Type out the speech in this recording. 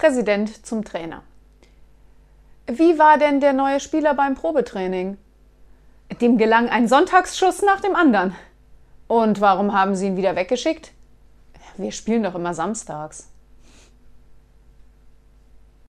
Präsident zum Trainer. Wie war denn der neue Spieler beim Probetraining? Dem gelang ein Sonntagsschuss nach dem anderen. Und warum haben Sie ihn wieder weggeschickt? Wir spielen doch immer samstags.